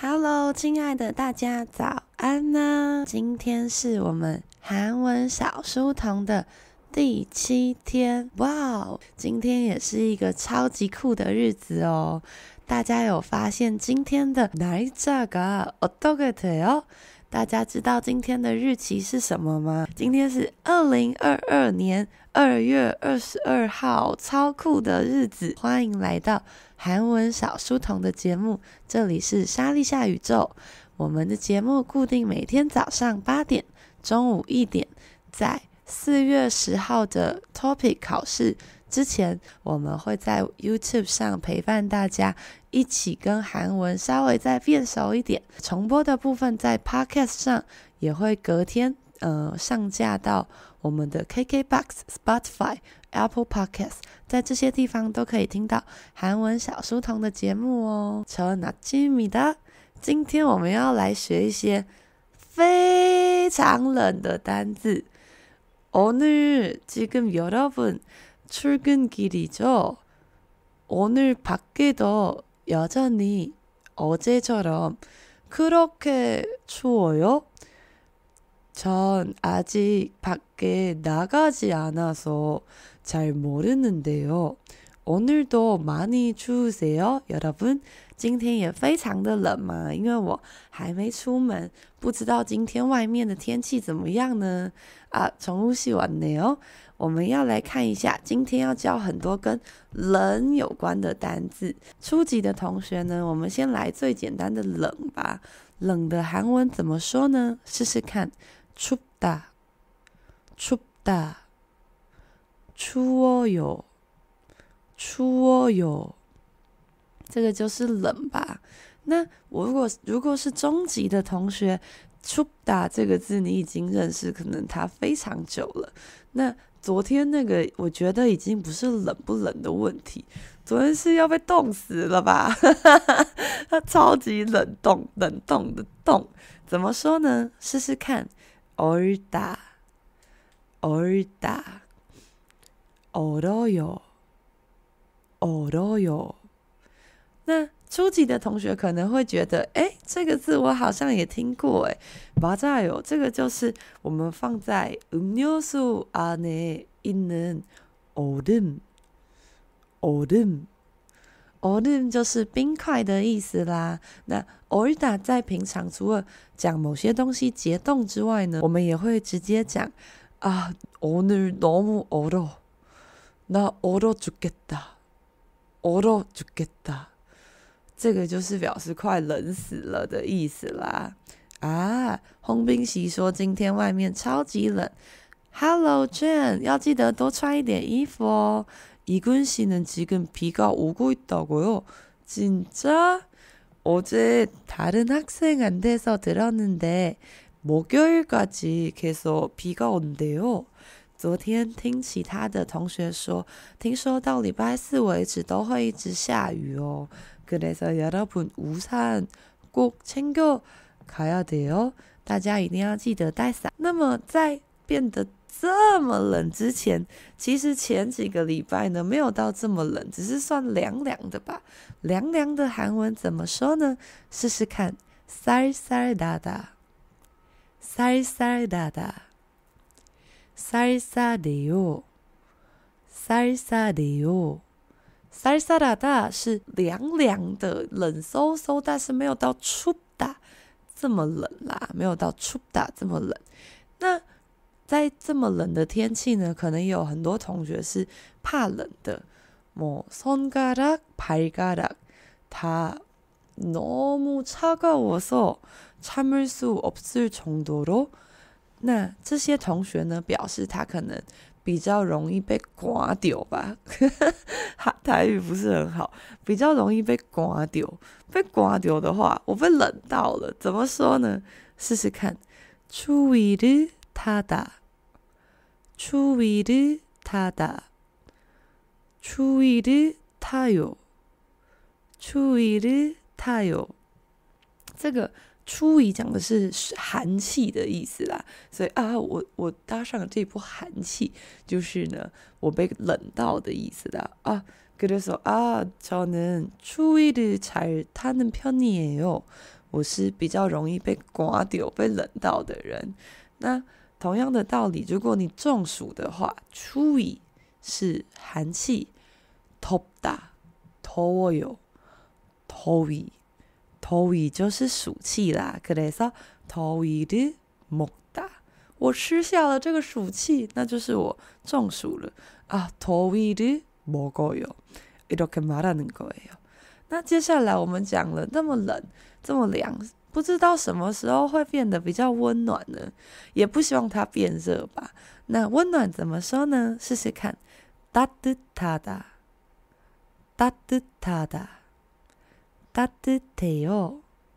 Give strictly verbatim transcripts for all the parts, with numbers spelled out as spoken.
Hello， 親愛的大家早安呢！今天是我們韓文小書童的第七天，哇！今天也是一個超級酷的日子哦。大家有發現今天的날짜가 어떻게 돼요？大家知道今天的日期是什麼嗎？今天是二零二二年二月二十二號，超酷的日子！歡迎來到韓文小書童的節目，這裡是莎莉夏宇宙。我們的節目固定每天早上八點、中午一點，在四月十號的 topic 考試之前，我們會在 YouTube 上陪伴大家，一起跟韓文稍微再變熟一點。重播的部分在 Podcast 上也會隔天呃上架到我們的 K K B O X、Spotify、Apple Podcast， 在這些地方都可以聽到韓文小書童的節目哦。좋은 아침입니다。今天我們要來學一些非常冷的單字。오늘 지금 여러분 출근길이죠? 오늘 밖에도 여전히 어제처럼 그렇게 추워요? 전 아직 밖에 나가지 않아서 잘 모르는데요. 오늘도 많이 추우세요, 여러분? 今天也非常的冷嘛，因為我還沒出門，不知道今天外面的天氣怎麼樣呢？啊，정우 씨 왔네요。我們要來看一下，今天要教很多跟冷有關的單字。初級的同學呢，我們先來最簡單的冷吧。冷的韓文怎麼說呢？試試看，춥다，춥다，추워요，추워요。這個就是冷吧。那我如果如果是中級的同學，춥다這個字你已經認識，可能它非常久了。那昨天那個我覺得已經不是冷不冷的問題，昨天是要被凍死了吧？它超級冷凍，冷凍的凍，怎麼說呢？試試看，얼다， 얼다， 얼어요， 얼어요。那初級的同學可能會覺得，哎，這個字我好像也聽過，哎，맞아요，這個就是我們放在음료수 안에 있는 얼음， 얼음， 얼음就是冰塊的意思啦。那얼다在平常除了講某些東西結凍之外呢，我們也會直接講啊，오늘 너무 얼어， 나 얼어 죽겠다， 얼어 죽겠다。這個就是表示快冷死了的意思啦。啊，홍빈 씨說今天外面超級冷。Hello Jen， 要記得多穿一點衣服哦。이군 씨는 지금 비가 오고 있다고요? 진짜? 어제 다른 학생한테서 들었는데 목요일까지 계속 비가 온대요。昨天聽其他的同學說，聽說到禮拜四為止都會一直下雨哦。그래서 여러분 우산 꼭 챙겨 가야 돼요。大家一定要記得帶傘。那麼在變得這麼冷之前，其實前幾個禮拜呢沒有到這麼冷，只是算涼涼的吧。涼涼的韓文怎麼說呢？試試看，쌀쌀하다，쌀쌀하다，쌀쌀해요，쌀쌀해요。쌀쌀하다是涼涼的，冷颼颼，但是沒有到춥다這麼冷啦，沒有到춥다這麼冷。那在這麼冷的天氣呢，可能有很多同學是怕冷的，뭐 손가락, 발가락 다 너무 차가워서 참을 수 없을 정도로。那這些同學呢，表示他可能比較容易被刮掉吧，台語不是很好，比較容易被刮掉。被刮掉的話，我被冷到了，怎麼說呢？試試看，추위를 타다， 추위를 타다， 추위를 타요， 추위를 타요。這個추위講的是寒氣的意思啦，所以啊，我我搭上了這波寒氣，就是呢，我被冷到的意思啦。啊， 그래서 아 저는 추위를 잘 타는 편이에요. 我是比較容易被刮掉、被冷到的人。那同樣的道理，如果你中暑的話，추위是寒氣，덥다 더워요 더위 더위就是暑氣啦。그래서 더위를 먹다，我吃下了這個暑氣，那就是我中暑了啊。더위를 먹어요 이렇게 말하는 거예요。那接下來我們講了那麼冷，這麼涼，不知道什麼時候會變得比較溫暖呢？也不希望它變熱吧。那溫暖怎麼說呢？試試看，따뜻하다 따뜻하다 따뜻해요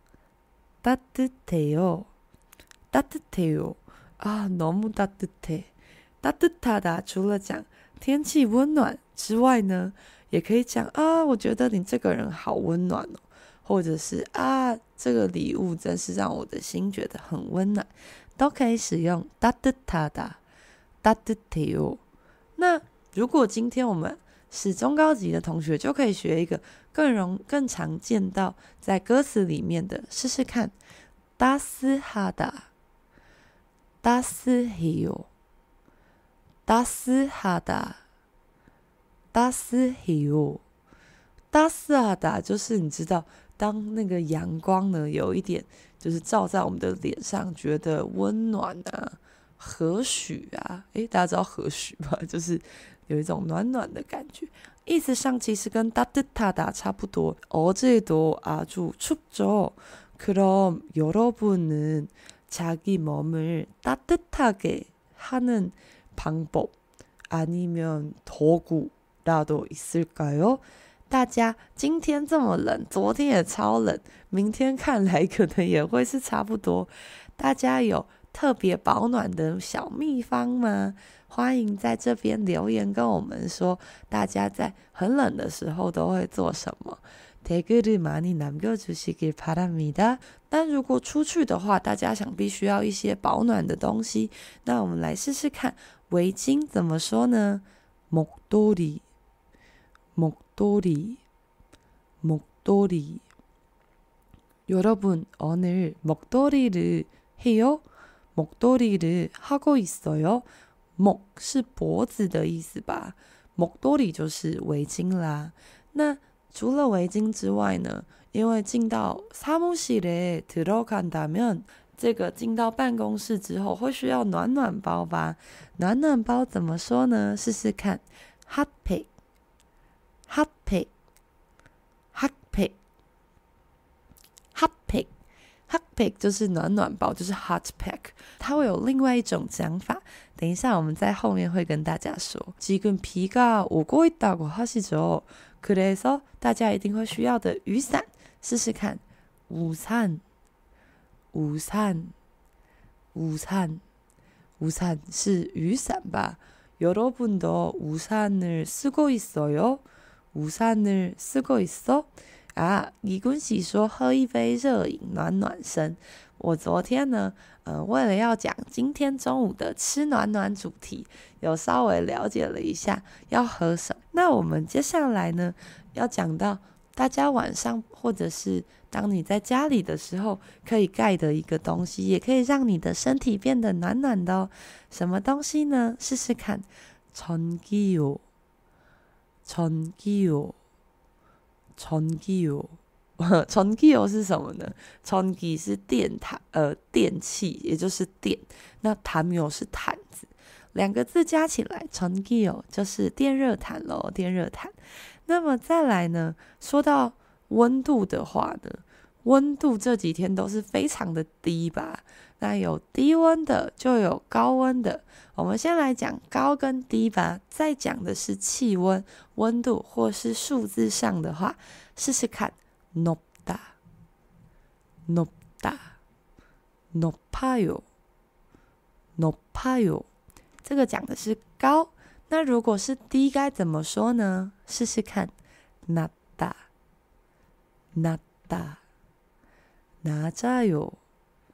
따뜻해요 따뜻해요啊너무 따뜻해 따뜻하다除了講天氣溫暖之外呢，也可以講啊，我覺得你這個人好溫暖哦，或者是啊，這個禮物真是讓我的心覺得很溫暖，都可以使用따뜻하다 따뜻해요。那如果今天我們是中高級的同學，就可以學一個更容更常見到在歌詞裡面的，試試看，따스하다 따스해요 따스하다 따스해요 따스하다就是你知道，當那個陽光呢有一點就是照在我們的臉上，覺得溫暖啊，和煦啊，誒，大家知道和煦吧？就是有一種暖暖的感覺，意思上其實跟따뜻하다差不多。어제도 아주 춥죠. 그럼 여러분은 자기 몸을 따뜻하게 하는 방법 아니면 도구라도 있을까요? 大家今天這麼冷，昨天也超冷，明天看來可能也會是差不多。大家有特別保暖的小秘方嗎？歡迎在這邊留言跟我們說，大家在很冷的時候都會做什麼？댓글을 많이 남겨주시길 바랍니다。但如果出去的話，大家想必需要一些保暖的東西。那我們來試試看，圍巾怎麼說呢？목도리 목도리 목도리 여러분 오늘 목도리를 해요? 목도리를 하고 있어요? 목是脖子的意思吧，목도리就是圍巾啦。那除了圍巾之外呢，因為進到사무실에 들어간다면這個進到辦公室之後會需要暖暖包吧？暖暖包怎麼說呢？試試看，핫팩 핫팩 핫팩 핫팩 핫팩就是暖暖包，就是 hot pack。它會有另外一種講法，等一下我們在後面會跟大家說。지금 비가 오고 있다고 하시죠? 그래서大家一定會需要的雨傘，試試看，우산 우산 우산 우산是雨傘吧？여러분도 우산을 쓰고 있어요? 우산을 쓰고 있어?啊，李君喜說喝一杯熱飲暖暖身。我昨天呢，呃，為了要講今天中午的吃暖暖主題，有稍微了解了一下要喝什麼。那我們接下來呢，要講到大家晚上或者是當你在家裡的時候可以蓋的一個東西，也可以讓你的身體變得暖暖的哦。什麼東西呢？試試看，전기요 전기요 전기요 전기요是什麼呢？전기是電毯，呃，電器，也就是電。那담요是毯子，兩個字加起來，전기요就是電熱毯咯，電熱毯。那麼再來呢，說到溫度的話呢，溫度這幾天都是非常的低吧？那有低溫的，就有高溫的。我們先來講高跟低吧，再講的是氣溫、溫度或是數字上的話，試試看。높다 높다 높아요 높아요這個講的是高，那如果是低該怎麼說呢？試試看，낮다 낮다 낮아요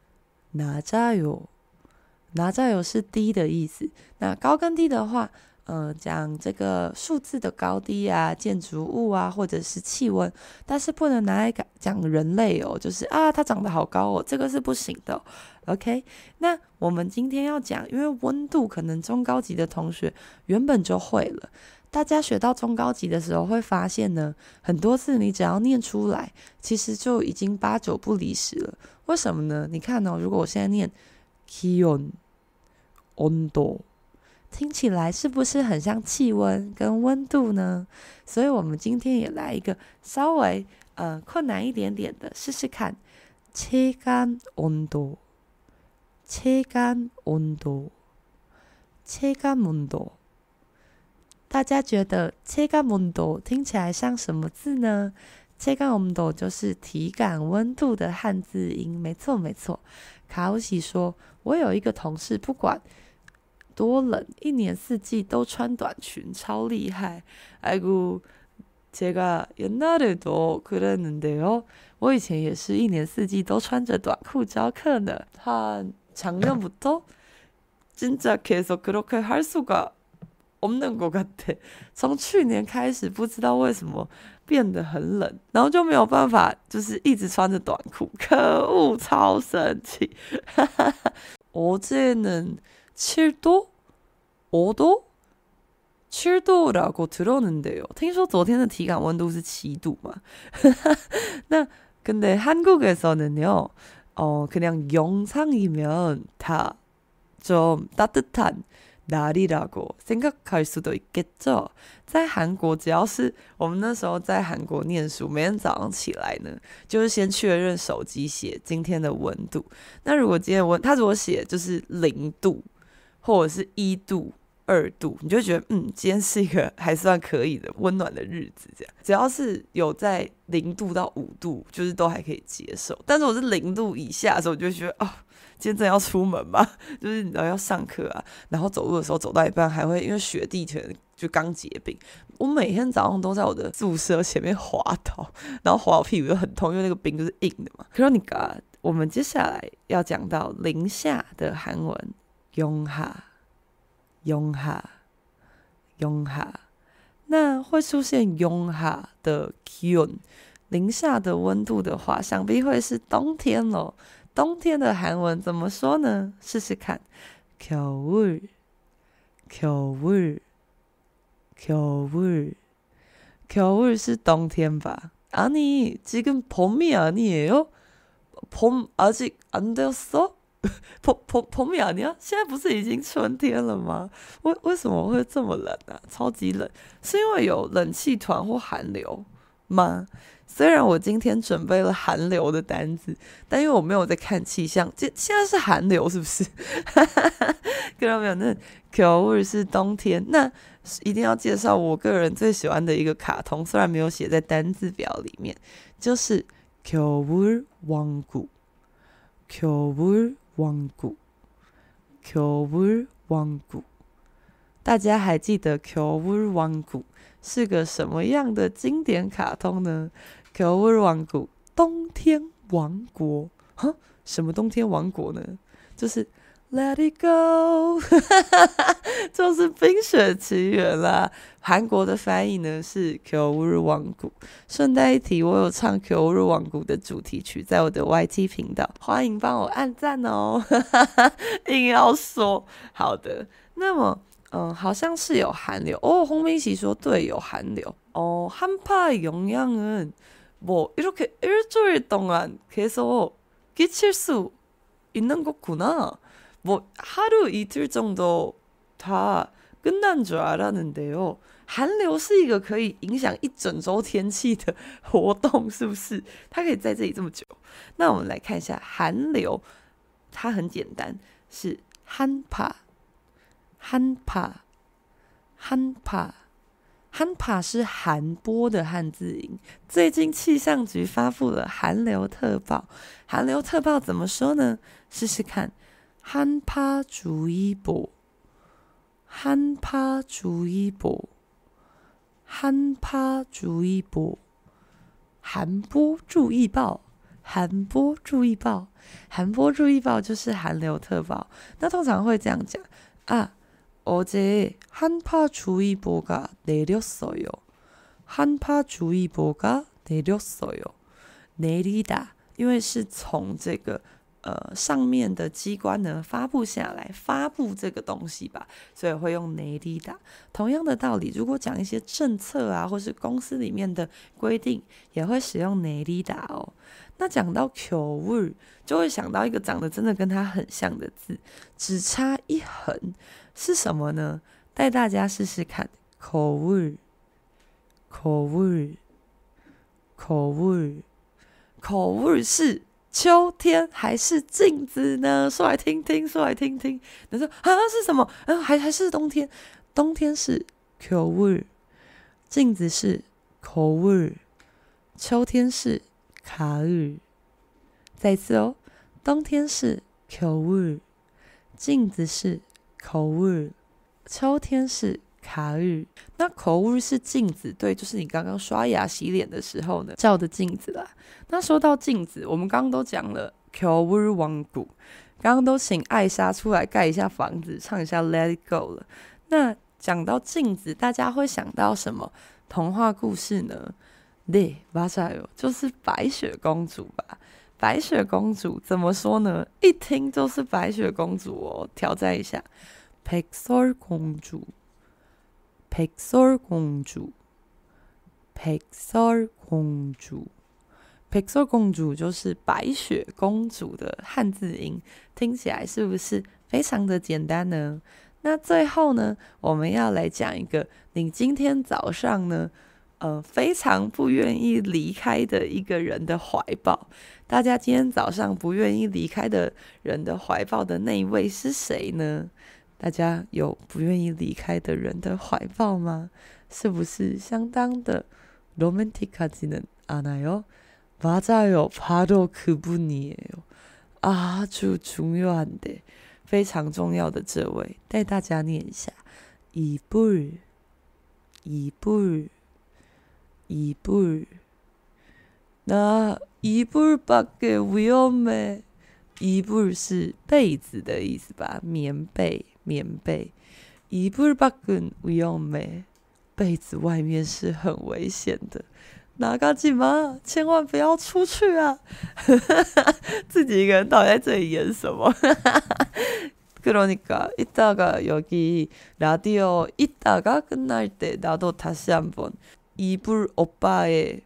낮아요 낮아요是低的意思。那高跟低的話， 呃，講這個數字的高低啊，建築物啊，或者是氣溫，但是不能拿來講人類哦，就是啊，它長得好高哦，這個是不行的哦。OK，那我們今天要講，因為溫度可能中高級的同學原本就會了，大家學到中高級的時候會發現呢，很多字你只要念出來，其實就已經八九不離十了。為什麼呢？你看哦，如果我現在念気溫、溫度，聽起來是不是很像氣溫跟溫度呢？所以我們今天也來一個稍微呃困難一點點的，試試看。체감 온도，체감 온도，체감 온도。大家覺得체감 온도聽起來像什麼字呢？체감 온도就是體感溫度的漢字音，沒錯沒錯。卡歐喜說，我有一個同事，不管多冷，一年四季都穿短裙，超厲害。아이고 제가 옛날에도 그랬는데요. 我以前也是一年四季都穿着短褲教課呢。한 작년부터 진짜 계속 그렇게 할 수가 없는 것 같아. 從去年開始，不知道為什麼變得很冷，然後就沒有辦法，就是一直穿着短褲。可惡，超生氣。어제는 칠 도? 오 도? 칠 도라고 들었는데요. 聽說昨天的體感溫度是七度嘛？那 근데 한국에서는요, 어, 그냥 영상이면 다 좀 따뜻한 날이라고 생각할 수도 있겠죠. 在韓國，只要是我們那時候在韓國念書，每天早上起來呢，就是先確認手機寫今天的溫度。那如果今天溫，他如果寫就是零度或者是一度、二度，你就會覺得嗯，今天是一個還算可以的溫暖的日子。這樣，只要是有在零度到五度，就是都還可以接受。但是我是零度以下的時候，我就會覺得哦。今天真的要出門嗎？就是你知道要上課啊，然後走路的時候走到一半還會因為雪地可能就剛結冰，我每天早上都在我的宿舍前面滑倒，然後滑到屁股就很痛，因為那個冰就是硬的嘛。그러니까我們接下來要講到零下的韓文，영하，영하，영하。那會出現영하的기온，零下的溫度的話，想必會是冬天咯。冬天的韓文怎麼說呢？試試看，겨울，겨울，겨울，겨울是冬天吧？아니，지금 봄이 아니에요？봄 아직 안 되었어？봄 봄 봄이 아니야？現在不是已經春天了嗎？為為什麼會這麼冷啊？超級冷，是因為有冷氣團或寒流嗎？雖然我今天準備了寒流的單字，但因為我沒有在看氣象，這現在是寒流是不是？看到沒有？那겨울是冬天，那一定要介紹我個人最喜歡的一個卡通，雖然沒有寫在單字表裡面，就是겨울 왕국，겨울 왕국，겨울 왕국。大家還記得겨울 왕국是個什麼樣的經典卡通呢？겨울 왕국，冬天王國。哈，什麼冬天王國呢？就是 Let it go， 就是冰雪奇緣啦。韓國的翻譯呢是겨울 왕국。順帶一提，我有唱겨울 왕국的主題曲，在我的 Y T 頻道，歡迎幫我按讚哦。硬要說好的，那麼。嗯，好像是有寒流哦。홍민씨說對，有寒流哦。한파의 영향은 뭐 이렇게 일주일 동안 계속 끼칠 수 있는 거구나. 뭐 하루 이틀 정도 다 끝난 줄 알았는데요. 寒流是一個可以影響一整周天氣的活動，是不是？它可以在這裡這麼久。那我們來看一下寒流，它很簡單，是한파。한파， 한파， 한파是寒波的漢字音。最近氣象局發布了寒流特報，寒流特報怎麼說呢？試試看，한파주의보， 한파주의보， 한파주의보， 寒波注意報，寒波注意報，寒波注意報就是寒流特報。那通常會這樣講啊。 어제 한파주의보가 내렸어요. 한파주의보가 내렸어요. 내리다，因為是從這個呃上面的機關呢發布下來，發布這個東西吧，所以會用내리다。同樣的道理，如果講一些政策啊，或是公司裡面的規定，也會使用내리다哦。那講到겨울，就會想到一個長得真的跟它很像的字，只差一橫，是什麼呢？帶大家試試看，겨울，겨울，겨울，겨울是秋天還是鏡子呢？說來聽聽，說來聽聽。你說啊是什麼？啊還還是冬天？冬天是겨울，鏡子是거울，秋天是가을。再次哦，冬天是겨울，鏡子是거울，秋天是가을。那거울是鏡子，對，就是你剛剛刷牙洗臉的時候呢照的鏡子啦。那說到鏡子，我們剛剛都講了겨울왕국，剛剛都請艾莎出來蓋一下房子，唱一下 Let It Go 了。那講到鏡子，大家會想到什麼童話故事呢？對，맞아요，就是白雪公主吧。白雪公主怎麼說呢？一聽就是白雪公主哦，挑戰一下，백설공주，백설공주，백설공주，백설공주就是白雪公主的漢字音，聽起來是不是非常的簡單呢？那最後呢，我們要來講一個你今天早上呢，呃，非常不願意離開的一個人的懷抱。大家今天早上不願意離開的人的懷抱的那一位是誰呢？大家有不願意離開的人的懷抱嗎？是不是相當的로맨틱하지는 않아요? 맞아요, 바로 그분이에요. 아주 중요한데, 非常重要的這位，帶大家念一下，이불，이불，이불。那이불밖에 위험해， 이불是被子的意思吧？棉被，棉被。이불밖은 위험해， 被子外面是很危險的。나가지 마，千萬不要出去啊！自己一個人到底在這裡演什麼？그러니까 이따가 여기 라디오 이따가 끝날 때 나도 다시 한번 이불 오빠의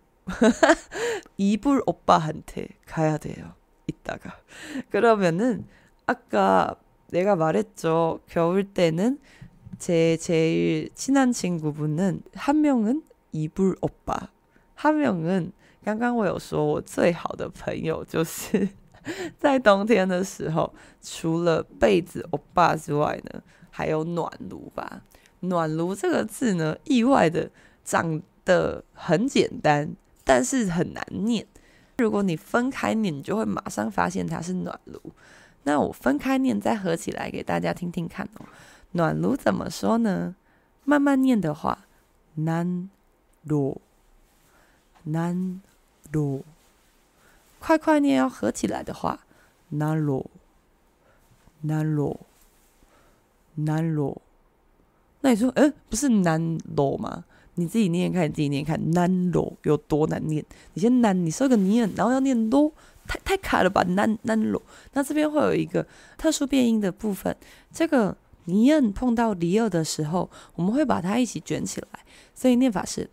이불 오빠한테 가야 돼요. 이따가. 그러면은 아까 내가 말했죠. 겨울 때는 제 제일 친한 친구분은 한 명은 이불 오빠, 한 명은 刚刚我有說我最好的朋友就是在冬天的時候，除了被子歐巴之外呢，還有暖爐吧。暖爐這個字呢，意外的長得很簡單，但是很難念。如果你分開念，你就會馬上發現它是暖爐。那我分開念，再合起來給大家聽聽看哦。暖爐怎麼說呢？慢慢念的話，난로，난로。快快念要合起來的話，난로，난로，난로。那你說，誒，不是난로嗎？你自己念看，你自己念看，난로有多難念？你先難，你說個念，然後要念로，太太卡了吧？난 난로。那這邊會有一個特殊變音的部分，這個念碰到리얼的時候，我們會把它一起捲起來，所以念法是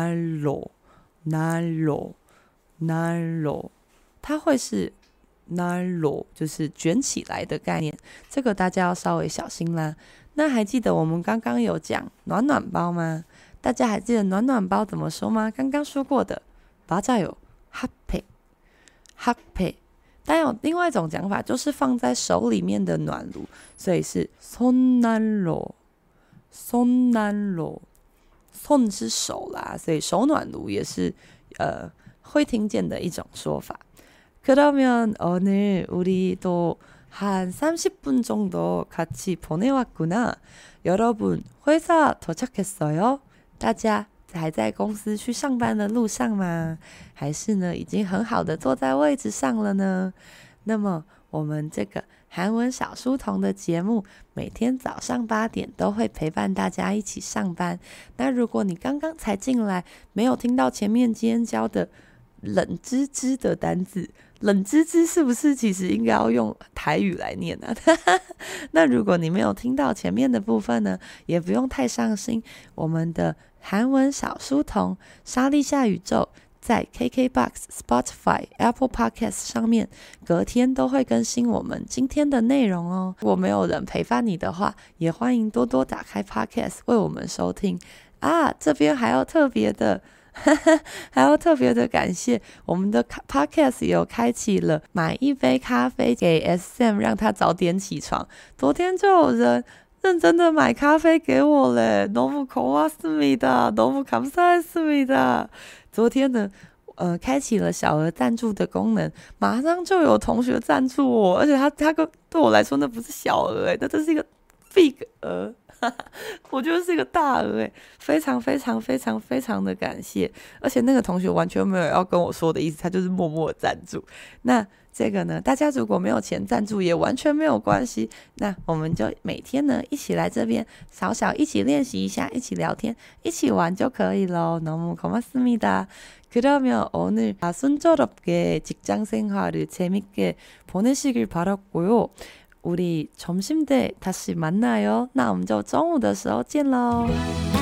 난로，난로，난로。它會是난로，就是捲起來的概念，這個大家要稍微小心啦。那還記得我們剛剛有講暖暖包嗎？大家還記得暖暖包怎麼說嗎？剛剛說過的，맞아요，핫팩，핫팩。但有另外一種講法，就是放在手裡面的暖爐，所以是손난로，손난로。손是手啦，所以手暖爐也是呃會聽見的一種說法。그러면 오늘 우리도 한 삼십 분 정도 같이 보내왔구나. 여러분 회사 도착했어요? 大家還在公司去上班的路上嗎？還是呢已經很好的坐在位置上了呢？ 那麼我們這個韓文小書童的節目每天早上八點都會陪伴大家一起上班。那如果你剛剛才進來，沒有聽到前面今天教的冷吱吱的單字，冷吱吱是不是其實應該要用台語來念呢、啊？那如果你沒有聽到前面的部分呢，也不用太傷心。我們的韓文小書童莎莉夏宇宙在 K K B O X、Spotify、Apple Podcast 上面隔天都會更新我們今天的內容哦。如果沒有人陪伴你的話，也歡迎多多打開 Podcast 為我們收聽啊。這邊還要特別的還要特別的感謝我們的 Podcast 有開啟了買一杯咖啡給 S M 讓他早點起床。昨天就有人認真的買咖啡給我嘞，너무 고맙습니다，너무 감사했습니다。昨天呢，呃，開啟了小額贊助的功能，馬上就有同學贊助我，而且他他跟對我來說那不是小額誒，那這是一個 big 額，我覺得是一個大額誒，非常非常非常非常的感謝，而且那個同學完全沒有要跟我說的意思，他就是默默的贊助。那這個呢，大家如果沒有錢贊助也完全沒有關係，那我們就每天呢一起來這邊小小一起練習一下，一起聊天，一起玩就可以咯。너무 고맙습니다。 그러면 오늘 순조롭게 직장생활을 재밌게 보내시길 바랐고요. 우리 점심 때 다시 만나요. 那我們就中午的時候見咯。